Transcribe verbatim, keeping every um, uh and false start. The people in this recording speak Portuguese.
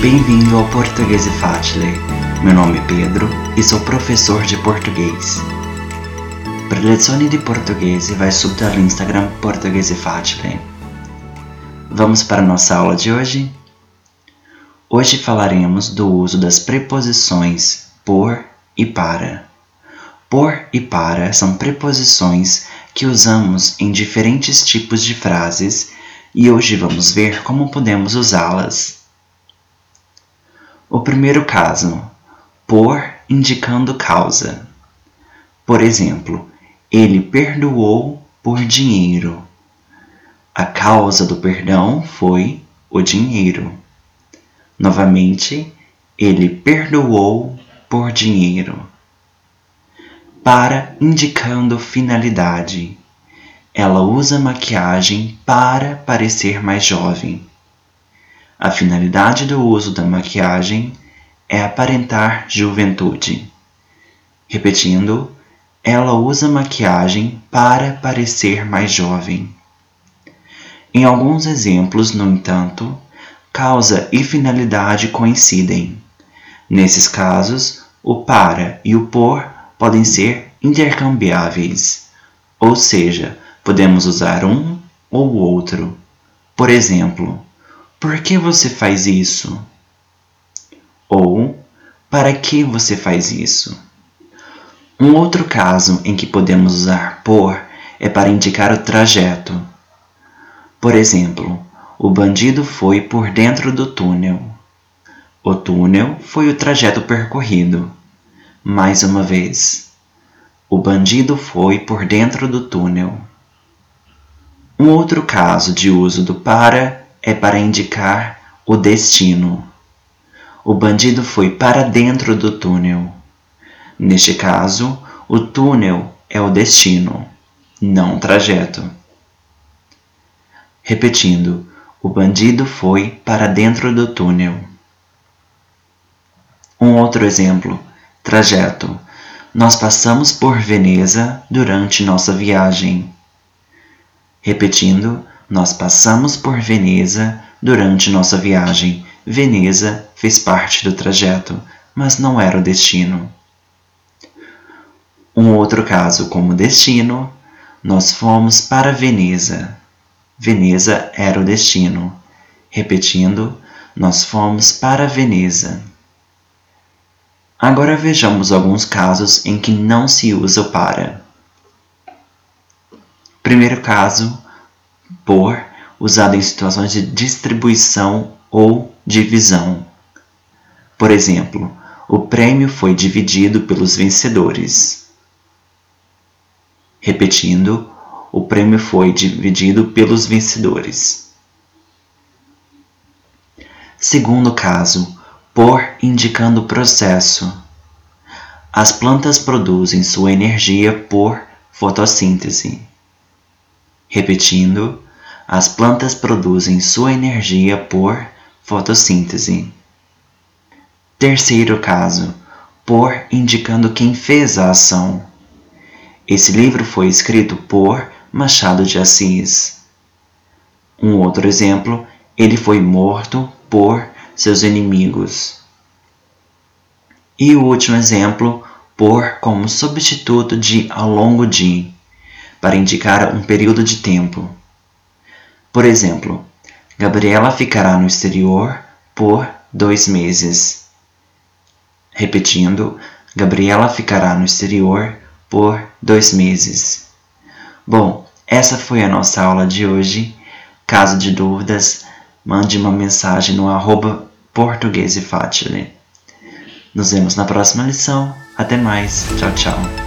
Bem-vindo ao Português e Facile. Meu nome é Pedro e sou professor de português. Per lezioni di portoghese vai subito all'Instagram Português e Facile. Vamos para a nossa aula de hoje? Hoje falaremos do uso das preposições por e para. Por e para são preposições que usamos em diferentes tipos de frases e hoje vamos ver como podemos usá-las. O primeiro caso, por indicando causa. Por exemplo, ele perdoou por dinheiro. A causa do perdão foi o dinheiro. Novamente, ele perdoou por dinheiro. Para indicando finalidade. Ela usa maquiagem para parecer mais jovem. A finalidade do uso da maquiagem é aparentar juventude. Repetindo, ela usa maquiagem para parecer mais jovem. Em alguns exemplos, no entanto, causa e finalidade coincidem. Nesses casos, o para e o por podem ser intercambiáveis, ou seja, podemos usar um ou o outro. Por exemplo, por que você faz isso? Ou, para que você faz isso? Um outro caso em que podemos usar por é para indicar o trajeto. Por exemplo, o bandido foi por dentro do túnel. O túnel foi o trajeto percorrido. Mais uma vez, o bandido foi por dentro do túnel. Um outro caso de uso do para é para indicar o destino. O bandido foi para dentro do túnel. Neste caso, o túnel é o destino, não o trajeto. Repetindo, o bandido foi para dentro do túnel. Um outro exemplo, trajeto. Nós passamos por Veneza durante nossa viagem. Repetindo, nós passamos por Veneza durante nossa viagem. Veneza fez parte do trajeto, mas não era o destino. Um outro caso como destino, nós fomos para Veneza. Veneza era o destino. Repetindo, nós fomos para Veneza. Agora vejamos alguns casos em que não se usa o para. Primeiro caso, por, usado em situações de distribuição ou divisão. Por exemplo, o prêmio foi dividido pelos vencedores. Repetindo, o prêmio foi dividido pelos vencedores. Segundo caso, por indicando processo. As plantas produzem sua energia por fotossíntese. Repetindo, as plantas produzem sua energia por fotossíntese. Terceiro caso, por indicando quem fez a ação. Esse livro foi escrito por Machado de Assis. Um outro exemplo, ele foi morto por seus inimigos. E o último exemplo, por como substituto de ao longo de, para indicar um período de tempo. Por exemplo, Gabriela ficará no exterior por dois meses. Repetindo, Gabriela ficará no exterior por dois meses. Bom, essa foi a nossa aula de hoje. Caso de dúvidas, mande uma mensagem no arroba Português e Facile. Nos vemos na próxima lição. Até mais. Tchau, tchau.